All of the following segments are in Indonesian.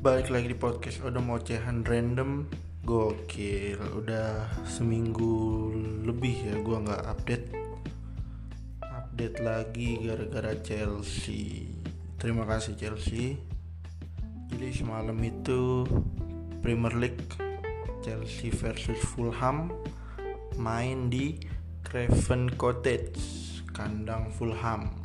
Balik lagi di podcast Udah mau cehan random. Gokil, udah seminggu lebih ya gue gak update lagi gara-gara Chelsea. Terima kasih Chelsea. Jadi semalam itu Premier League, Chelsea versus Fulham, main di Craven Cottage, kandang Fulham.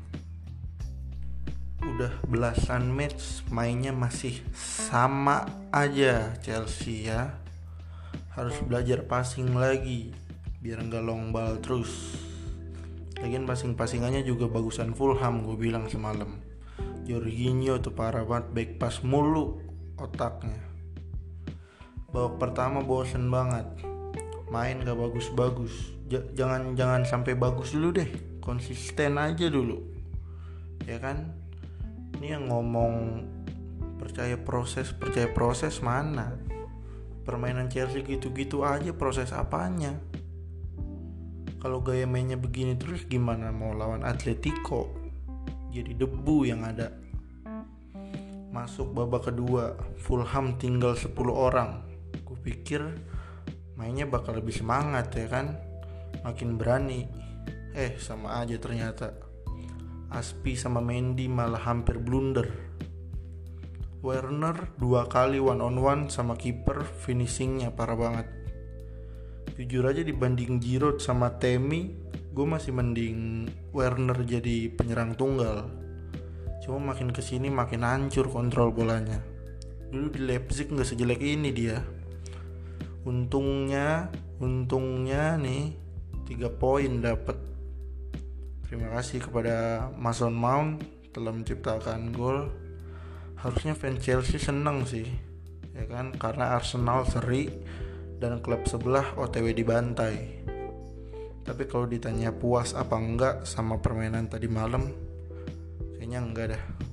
Udah belasan match mainnya masih sama aja Chelsea ya. Harus belajar passing lagi biar gak long ball terus. Lagian passing-passingannya juga bagusan Fulham, gue bilang semalam. Jorginho tuh parah banget, back pass mulu otaknya. Babak pertama bosen banget, main gak bagus-bagus. Jangan sampai bagus dulu deh, konsisten aja dulu, ya kan? Ini yang ngomong percaya proses mana? Permainan Chelsea gitu-gitu aja, proses apanya? Kalau gaya mainnya begini terus gimana mau lawan Atletico? Jadi debu yang ada. Masuk babak kedua, Fulham tinggal 10 orang. Gue pikir mainnya bakal lebih semangat ya kan? Makin berani. Sama aja ternyata. Aspi sama Mendy malah hampir blunder. Werner 2 kali one on one sama kiper, finishingnya parah banget. Jujur aja dibanding Giroud sama Temi, gue masih mending Werner jadi penyerang tunggal. Cuma makin kesini makin hancur kontrol bolanya. Dulu di Leipzig gak sejelek ini dia. Untungnya nih 3 poin dapet. Terima kasih kepada Mason Mount telah menciptakan gol. Harusnya fans Chelsea seneng sih, ya kan? Karena Arsenal seri dan klub sebelah OTW dibantai. Tapi kalau ditanya puas apa enggak sama permainan tadi malam, kayaknya enggak dah.